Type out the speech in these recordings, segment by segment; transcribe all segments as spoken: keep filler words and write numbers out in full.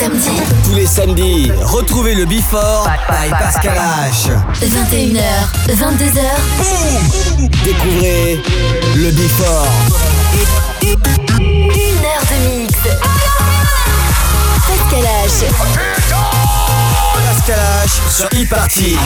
samedis. Tous les samedis, retrouvez le Before by Pascal H. vingt et une heures, vingt-deux heures. Boum. Découvrez le Before. Une heure de mix. Pascal H. Pascal H sur e-party.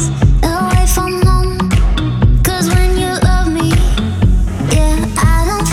Away from home, 'cause when you love me, yeah, I don't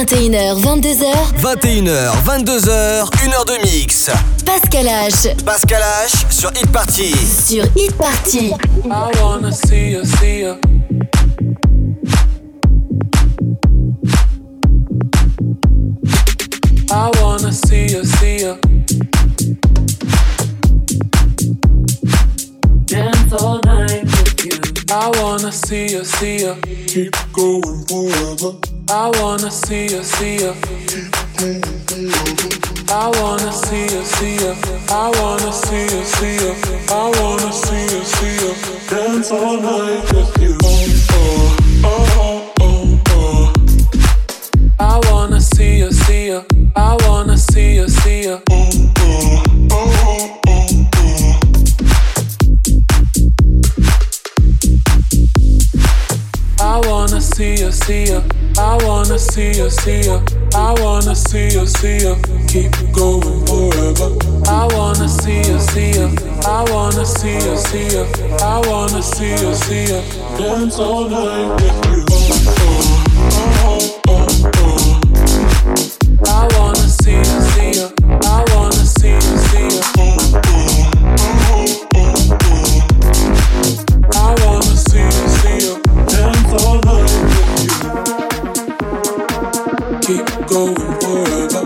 vingt et une heures, vingt-deux heures. vingt et une heures, vingt-deux heures, une heure de mix. Pascal H. Pascal H sur Hit Party. Sur Hit Party. I wanna see you, see you. I wanna see you, see you. Dance all night with you. I wanna see you, see you. Keep going forever. I wanna see you, see you. I wanna see you, see you. I wanna see you, see you. I wanna see you, see you. Dance all night with you. Oh, oh, oh, oh. I wanna see you, see you. I wanna see you, see you. Oh, oh, oh, oh, oh. I wanna see you, see you. I wanna see you, see you. I wanna see you, see you. Keep going forever. I wanna see you, see you. I wanna see you, see you. I wanna see you, see you. Dance all night with you. Oh, oh, oh, oh. I wanna see you, see you. I wanna see you, see you. Oh, oh, oh, oh. I wanna see you, see you. Dance all night with you. Keep going forever.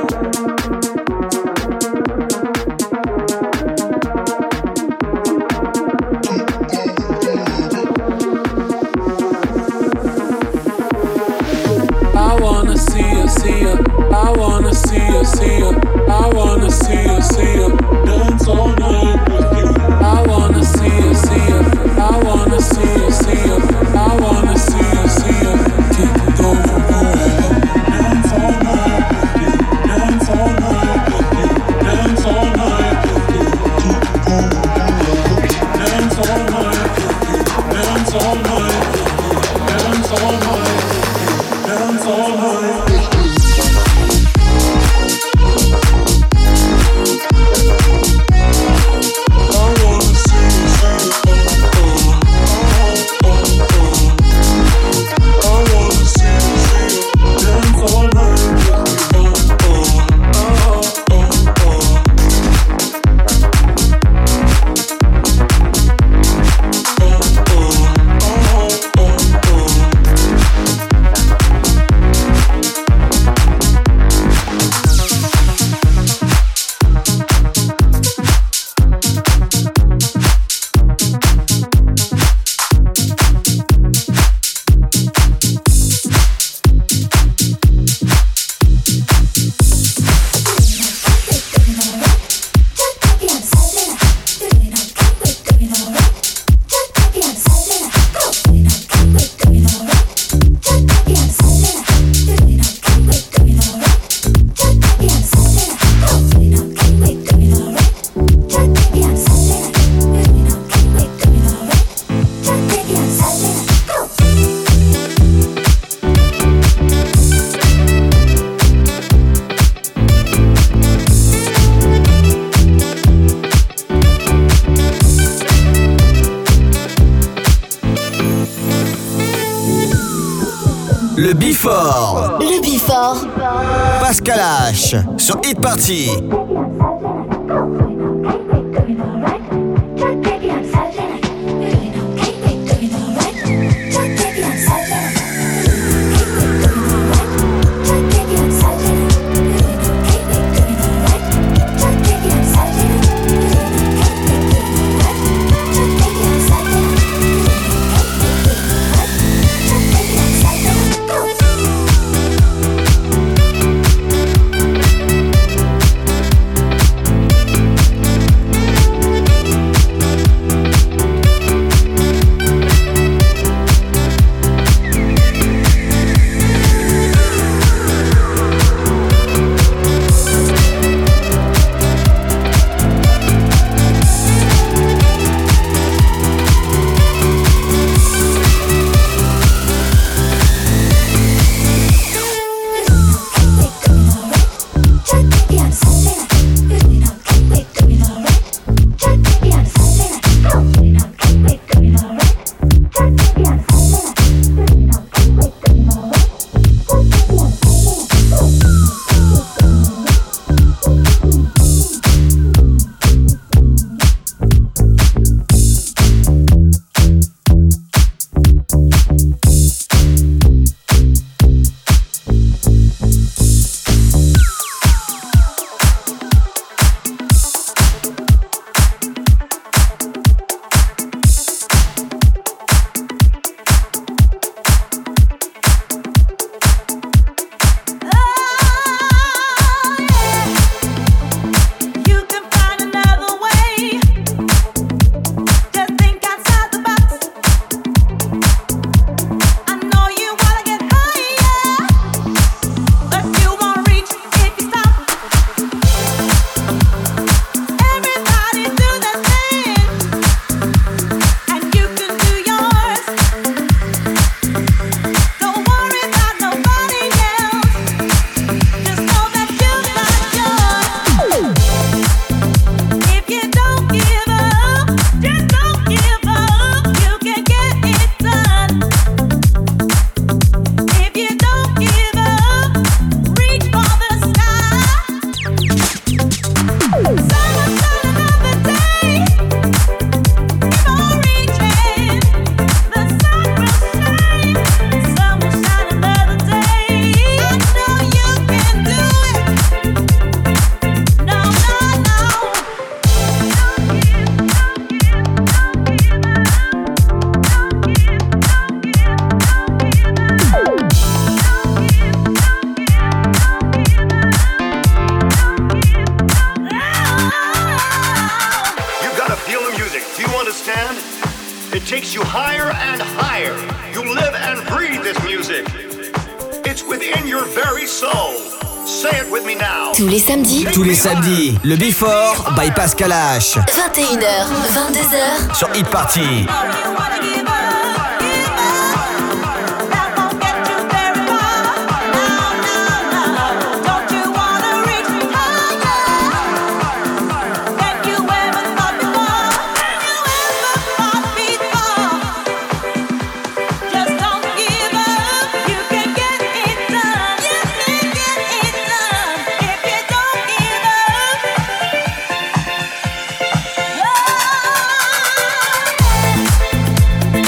I wanna see you, see you. I wanna see you, see you. I wanna see you, see you. Dance all night with you. I wanna see you, see you. I wanna see you, see you. I wanna see you, see you. Keep going forever. Dance all night with you. Dance all night with you. Dance all night with you. Keep going forever. Dance all night with you. Dance all night with you. Dance all night with you. Dance all night with you. Le Before. Le Before. Pascal H sur Hit Party. you higher and higher. You live and breathe this music. It's within your very soul. Say it with me now. Tous les samedis. Tous les samedis, le Before by Pascal H. vingt et une heures, vingt-deux heures. Sur Hit Party. Yeah.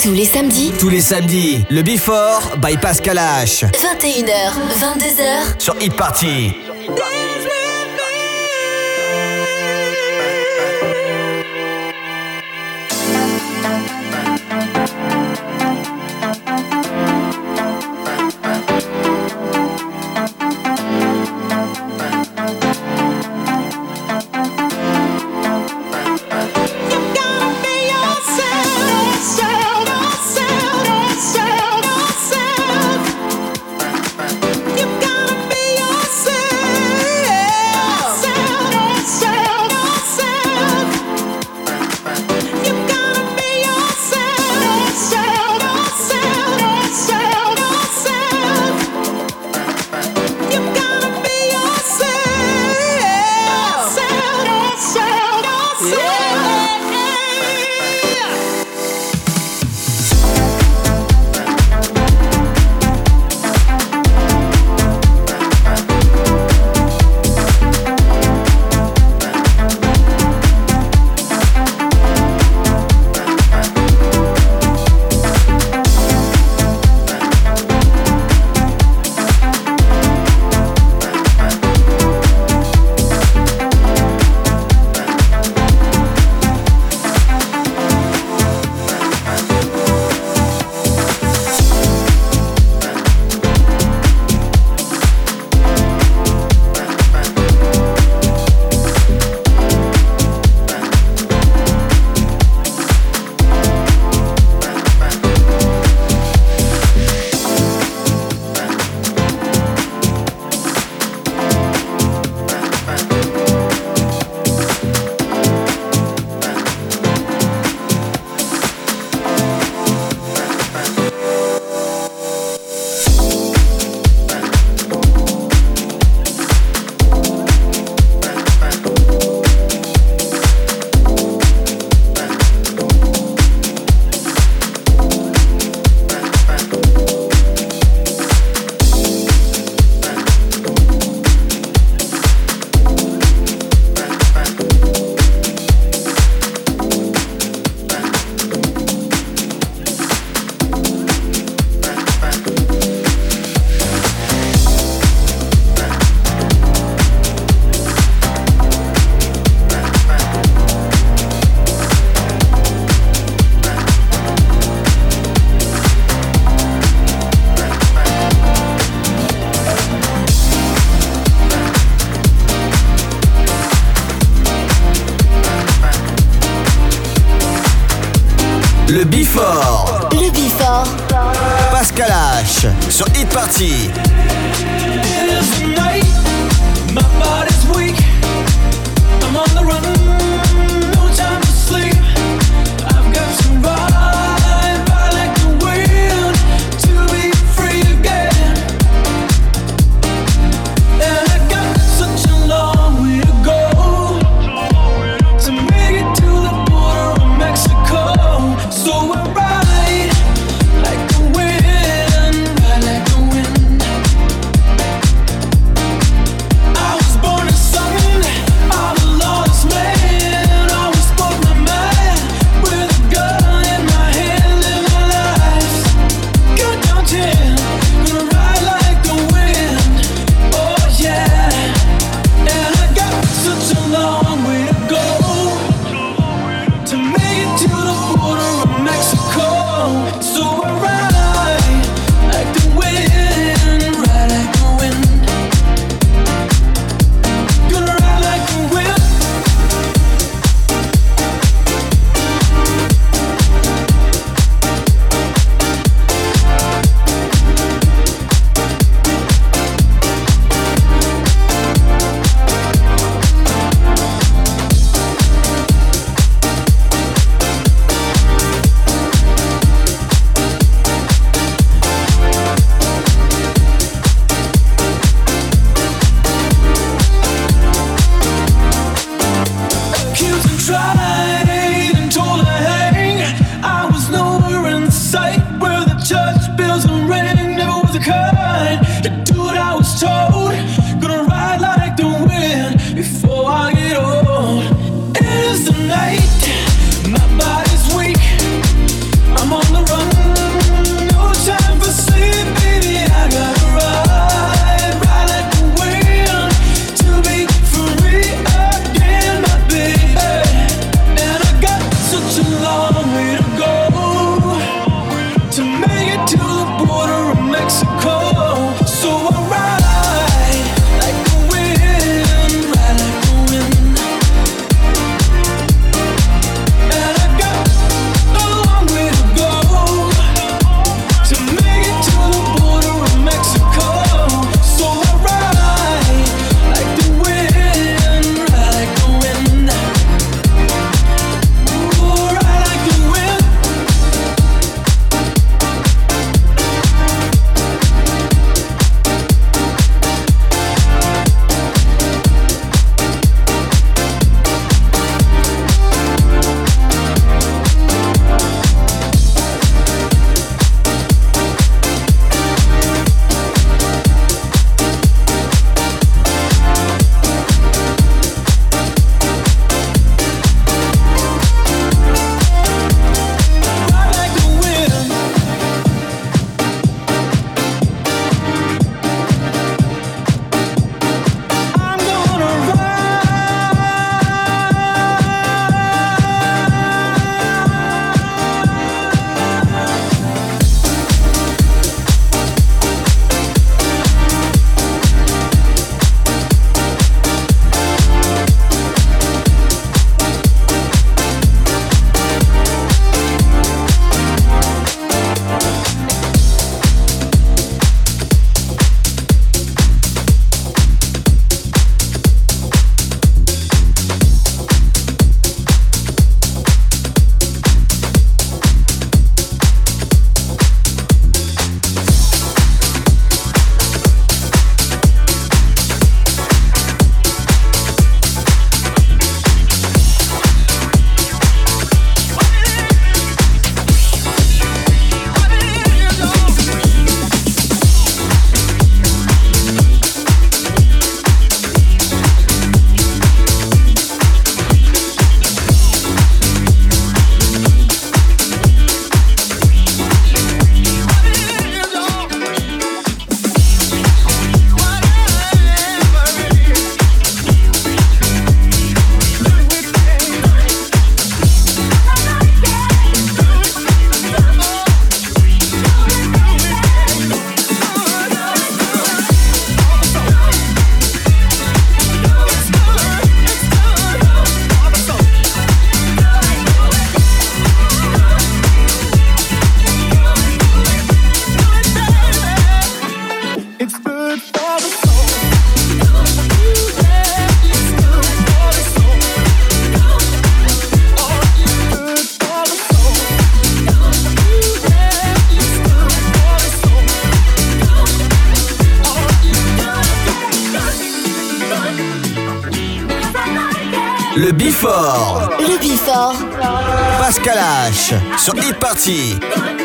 Tous les samedis. Tous les samedis, le Before by Pascal H. vingt et une heures, vingt-deux heures. Sur Hit Party. Le Before. Le Before. Pascal H. Sur Hit Party. My body's weak. I'm on the run. No time to sleep. I've got to ride by like the wind to be free again. And I got such a long way to go to make it to the border of Mexico. So I ride like the wind, ride like the wind. I was born Le Before. Le Before. Pascal H sur Hit Party.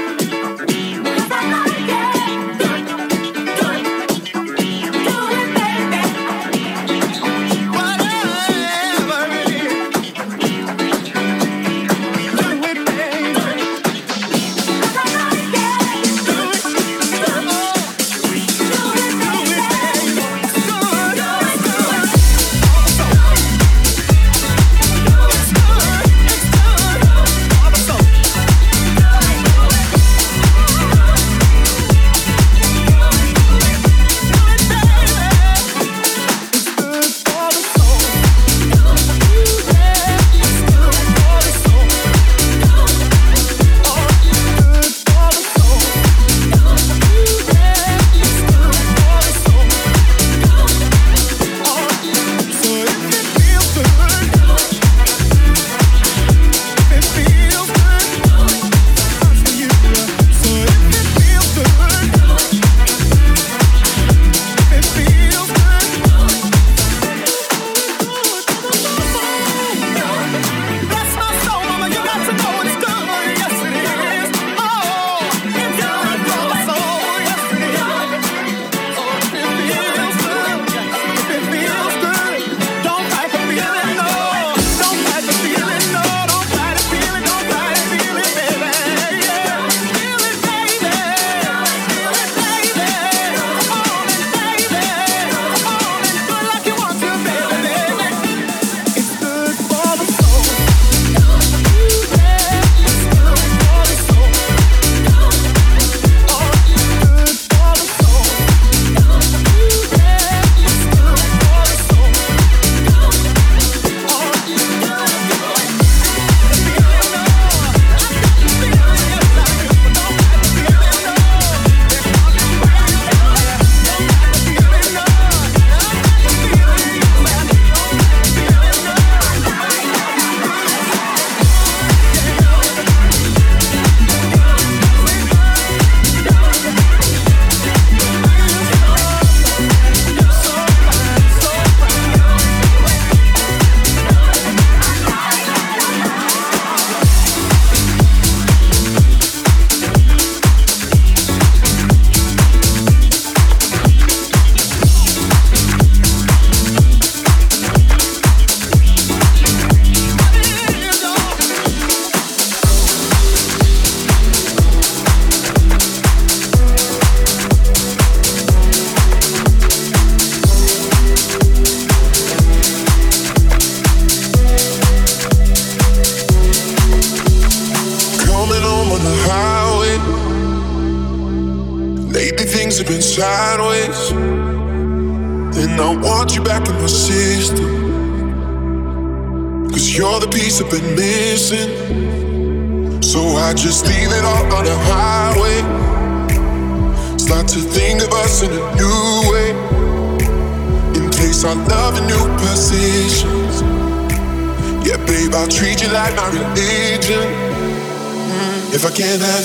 If I can't have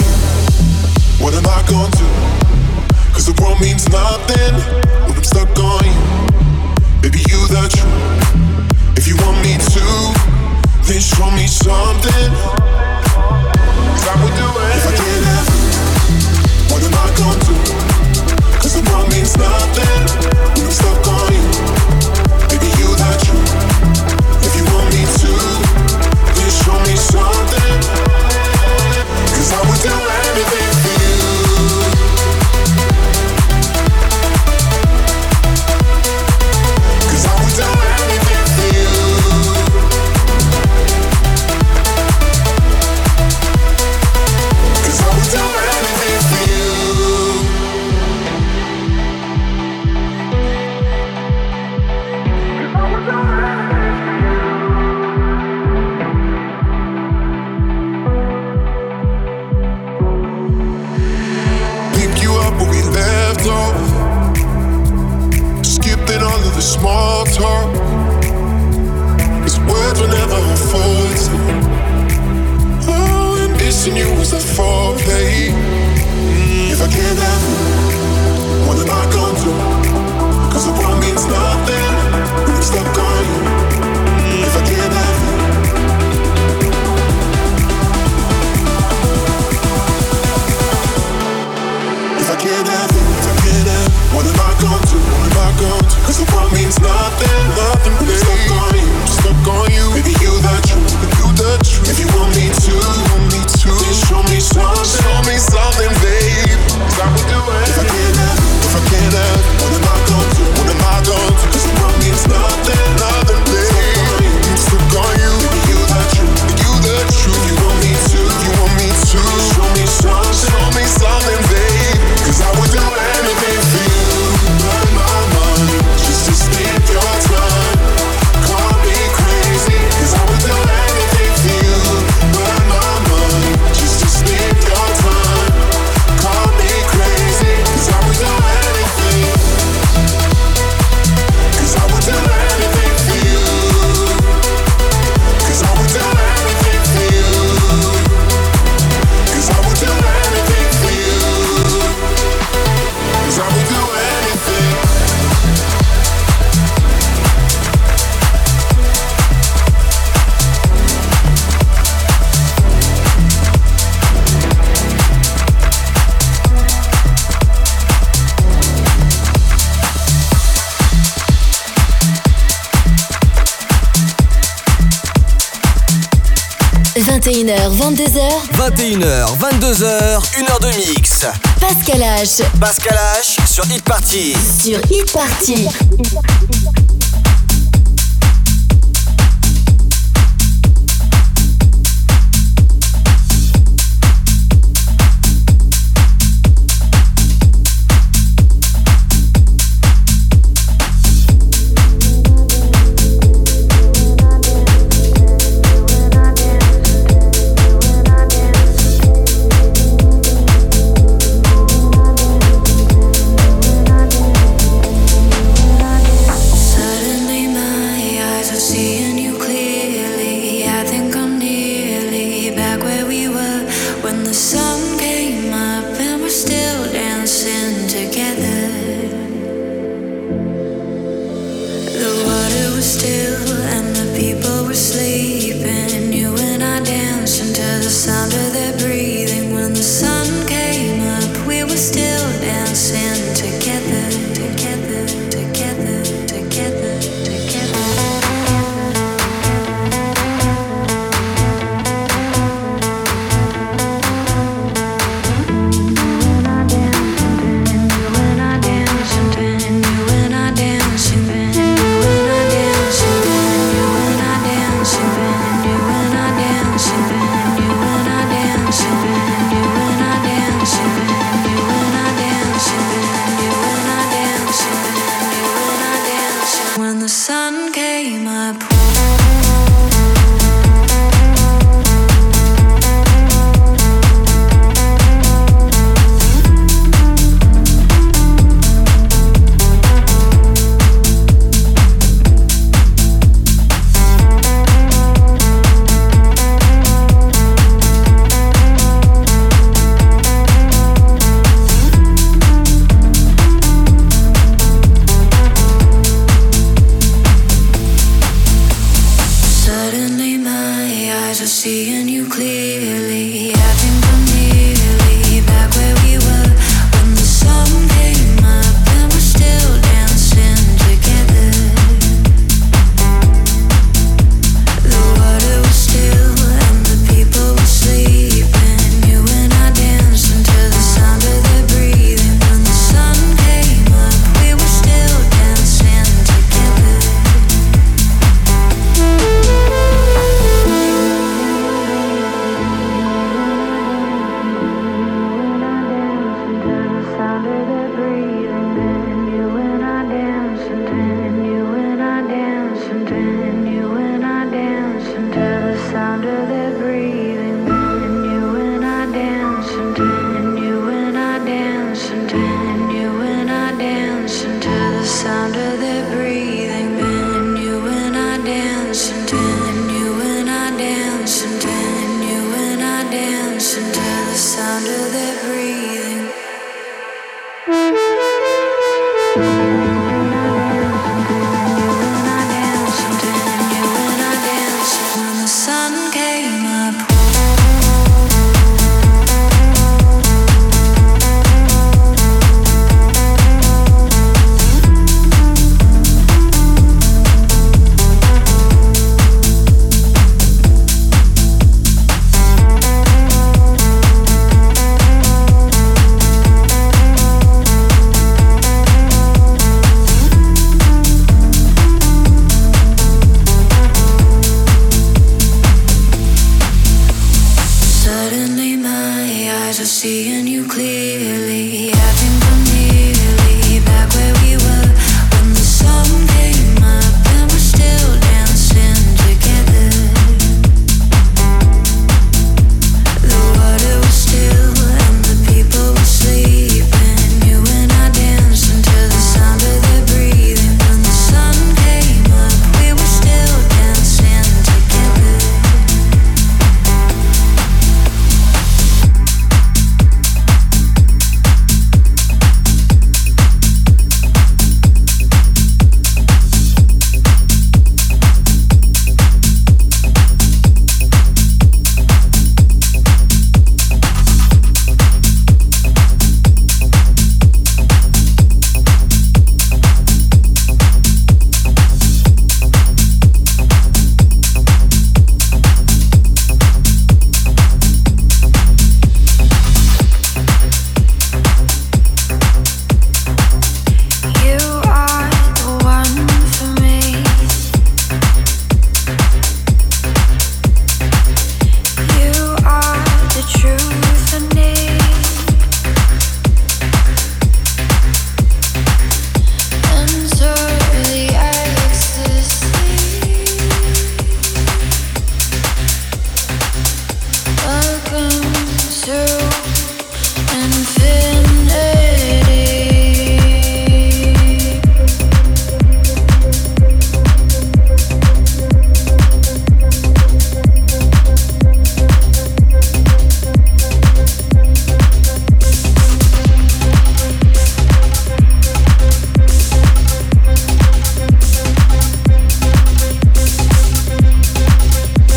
you, what am I gonna do? Cause the world means nothing when I'm stuck on you. Baby, you the truth. If you want me to, then show me something. Cause I would do it. If I can't have you, what am I gonna do? Cause the world means nothing when I'm stuck on you. Baby, you the truth. If you want me to, then show me something. Cause I would do anything for you. Cause I would do anything for you. Cause I would do anything for you. Cause I would do anything for you. Small talk, cause words were never a forte. Oh, and missing you was a foreplay. Mm, if I can't have you, what am I gonna do? Cause the world means nothing when I'm stuck on you. Mm, if I can't have vingt et une heures, vingt-deux heures. vingt et une heures, vingt-deux heures, une heure de mix. Pascal H. Pascal H sur Hit Party. Sur Hit Party.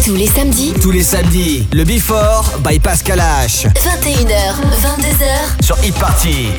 Tous les samedis. Tous les samedis, le Before by Pascal H. vingt et une heures, vingt-deux heures. Sur Hit Party.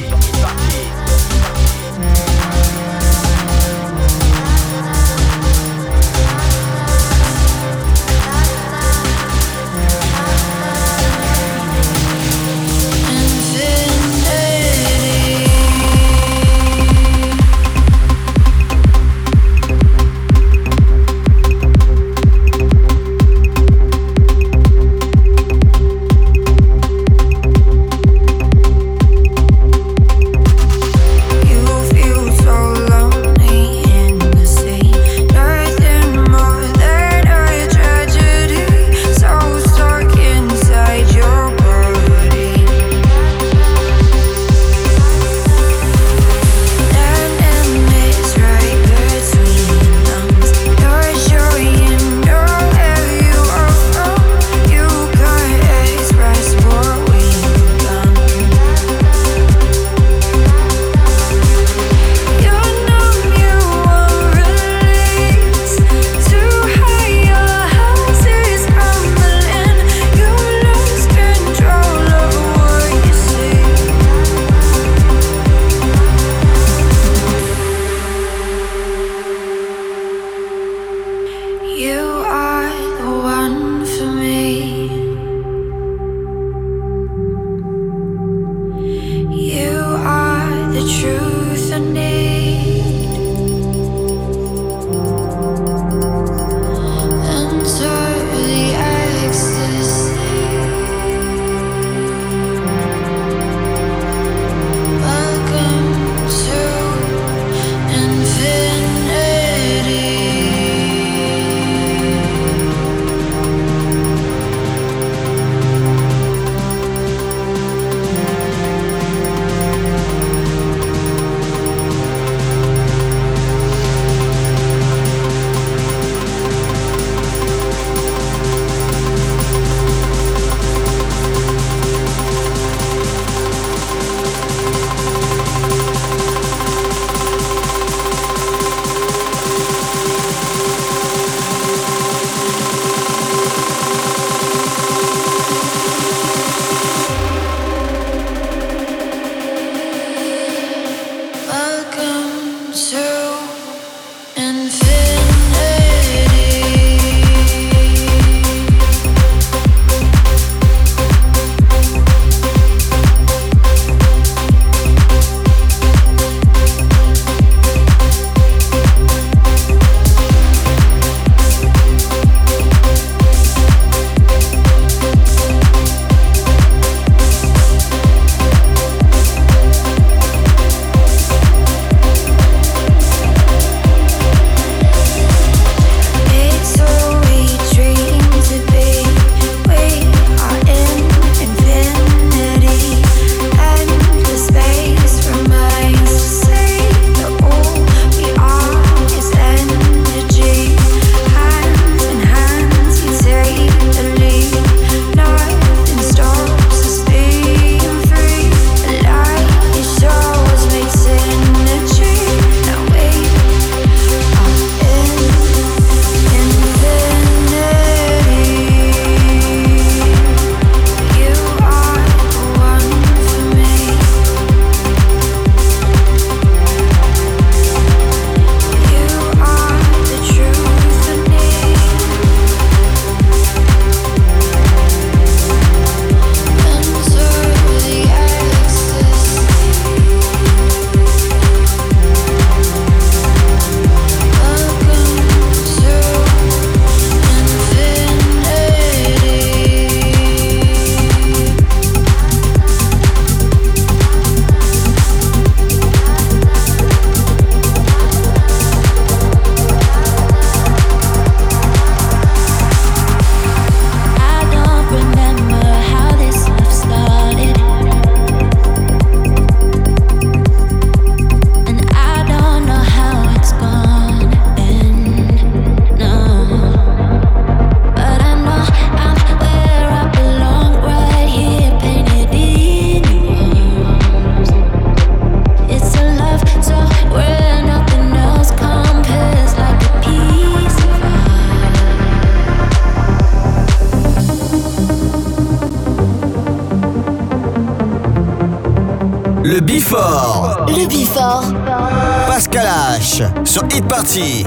Le Before. Le Before. Pascal H sur Hit Party.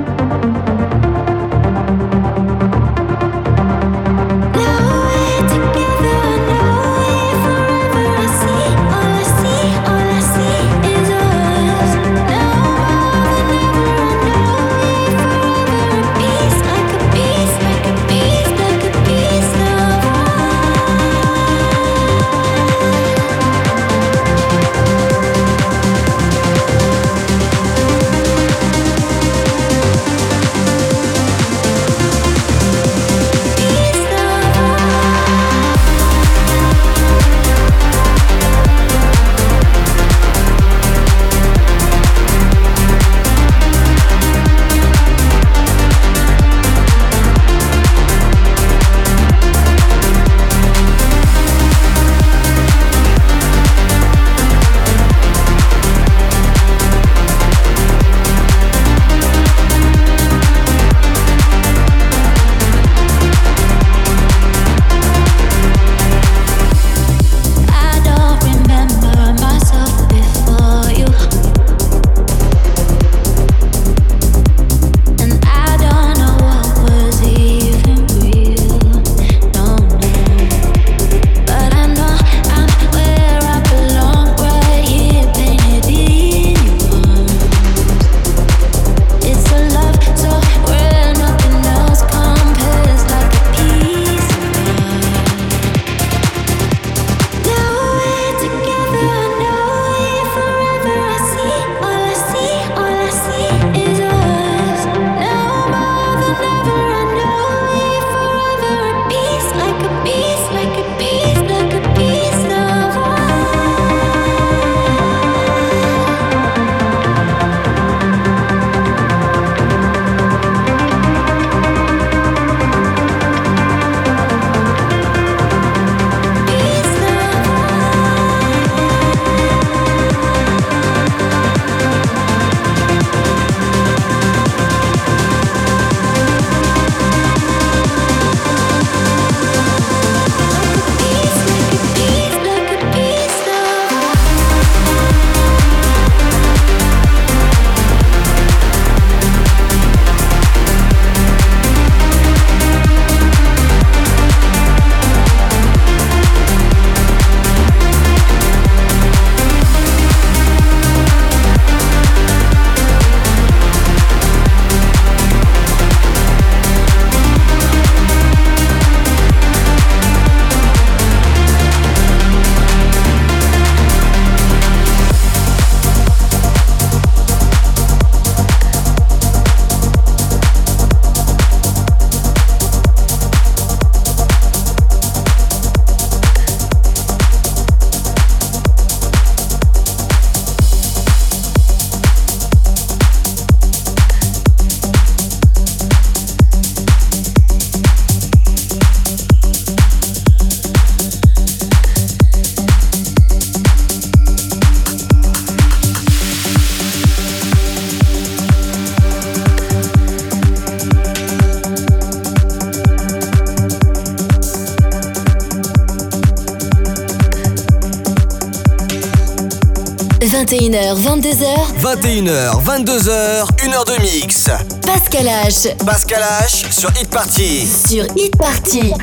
vingt et une heures, vingt-deux heures. vingt et une heures, vingt-deux heures, une heure de mix. Pascal H. Pascal H sur Hit Party. Sur Hit Party.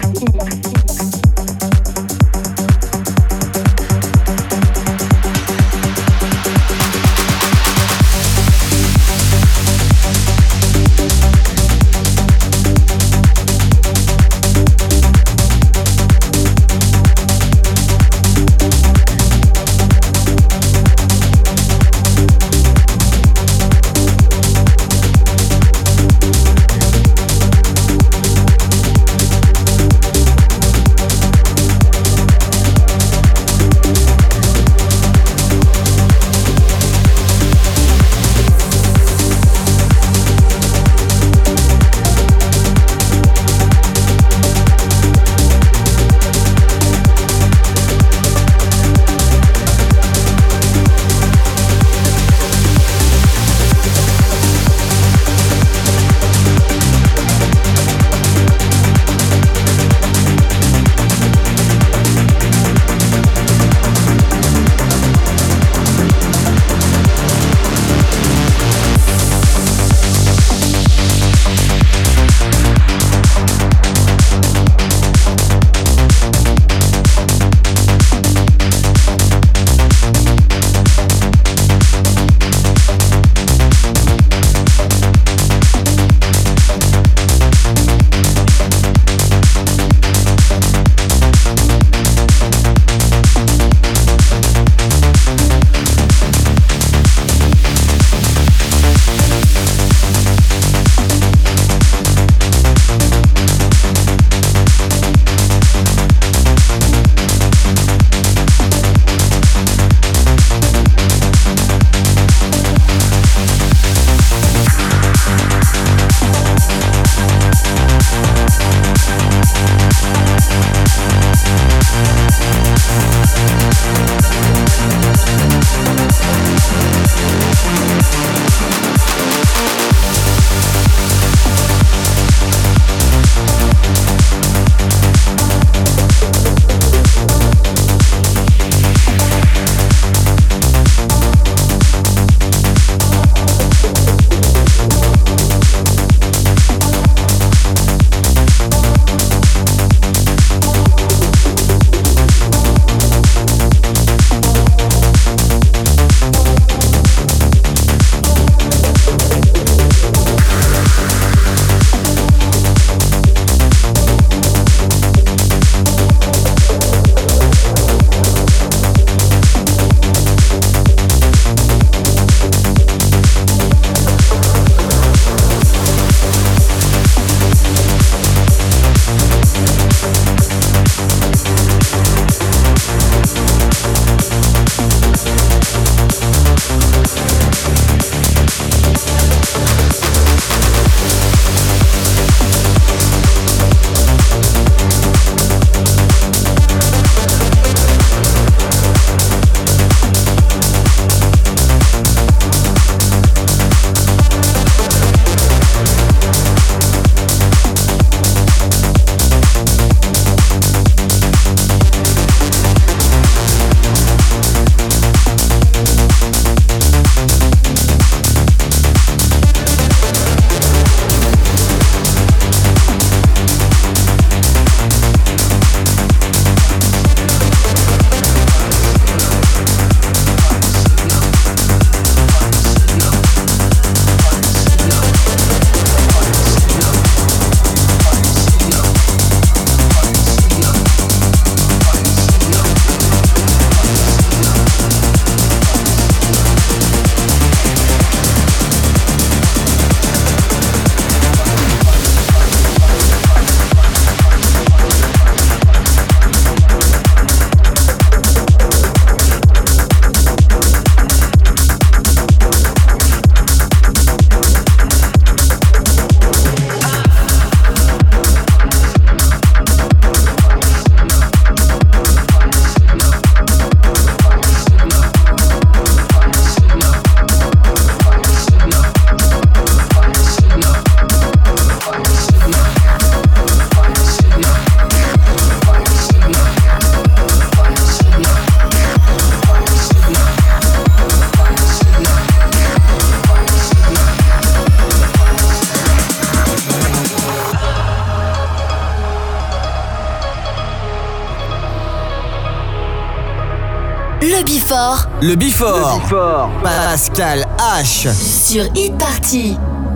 Le Before. Le Before. Le Before. Pascal H. Sur Hit Party.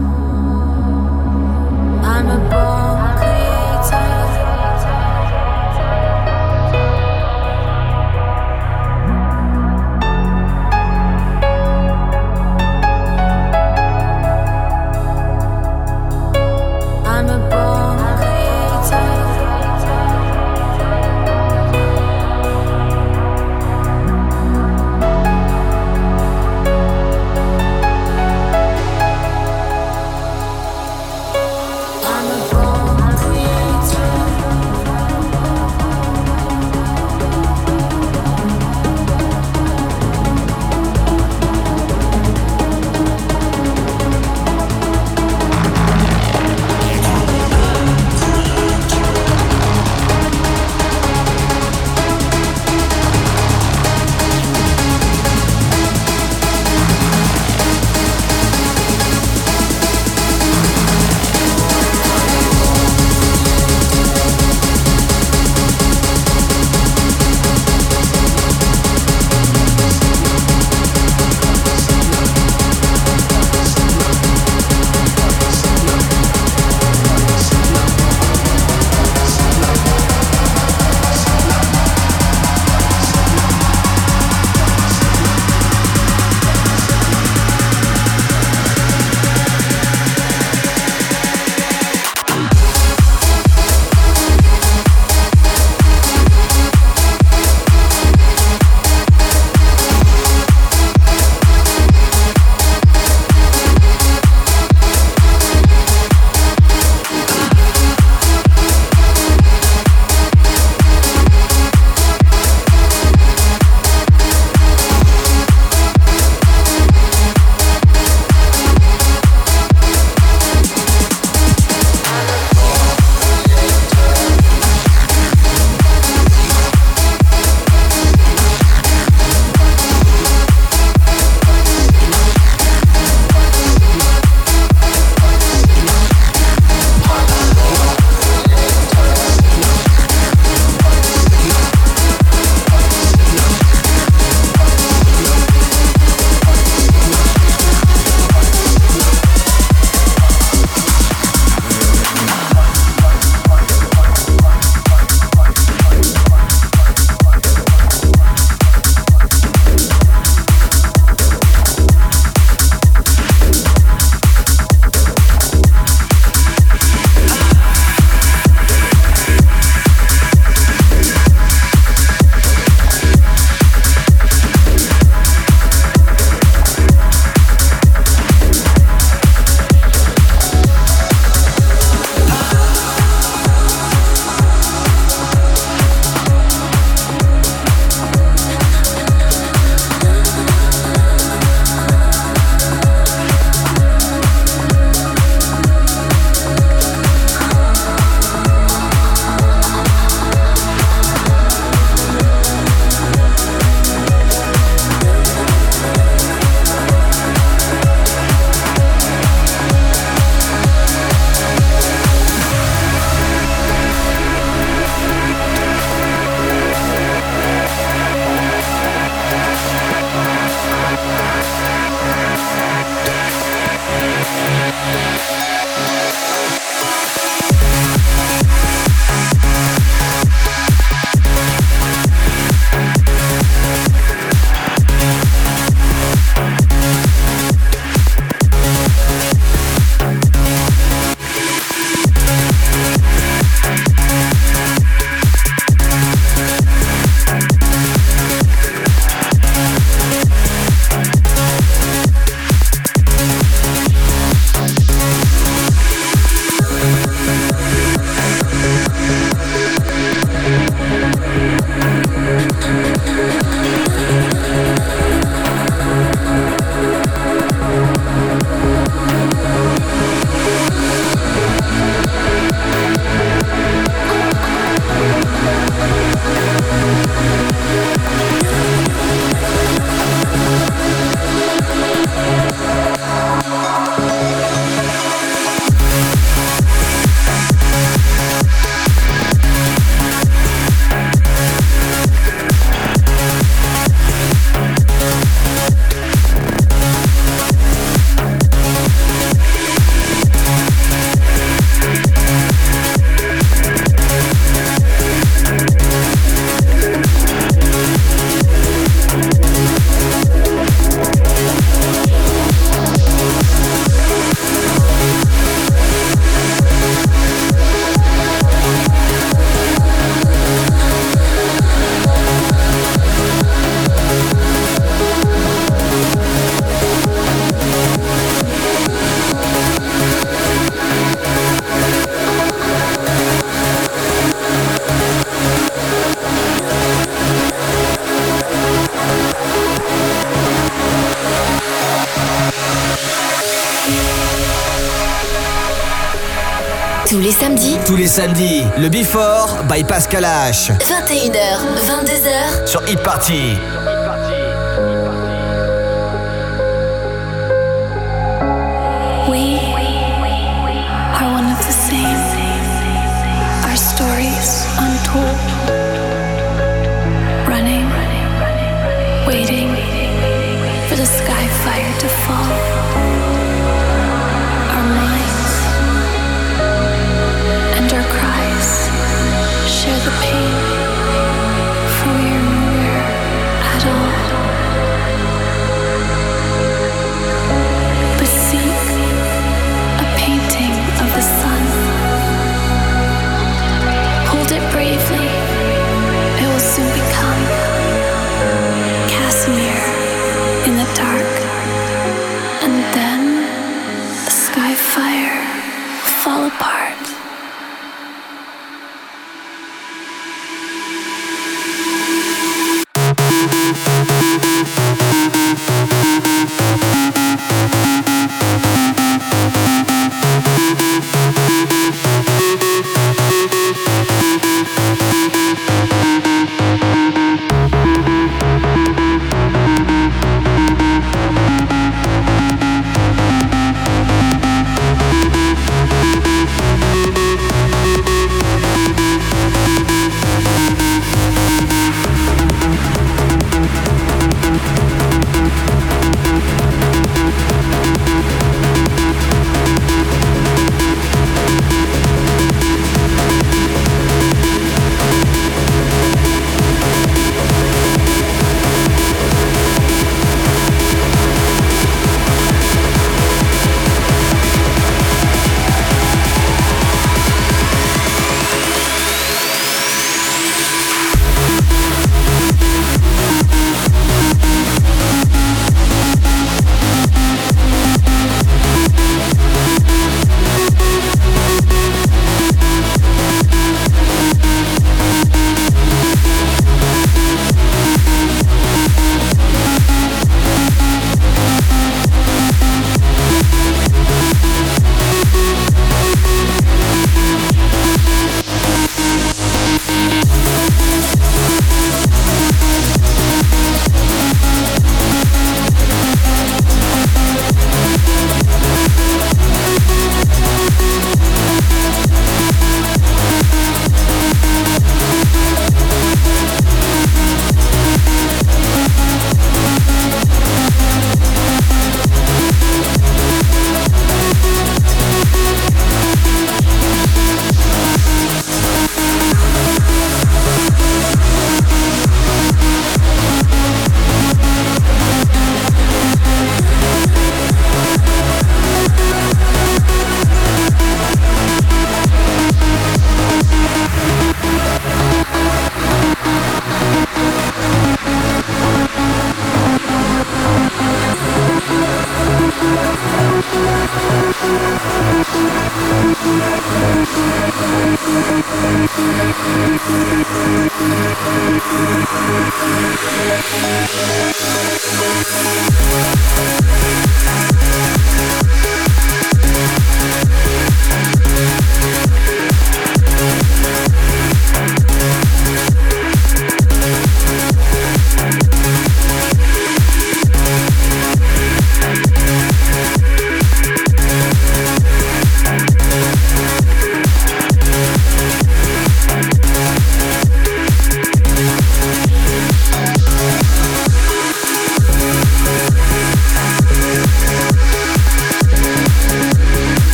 I'm a born creator. I'm a born creator. les samedis. Tous les samedis, le Before by Pascal H. vingt et une heures, vingt-deux heures. Sur Hit Party. We are one of the same. Our stories untold. Running, waiting for the sky fire to fall. Our minds and our cries share the pain, for we are nowhere at all. But seek a painting of the sun. Hold it bravely, it will soon become Casimir in the dark, and then the sky fire will fall apart.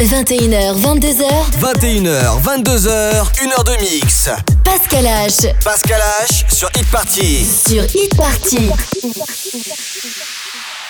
vingt et une heures, vingt-deux heures. vingt et une heures, vingt-deux heures, une heure de mix. Pascal H. Pascal H sur Hit Party. Sur Hit Party.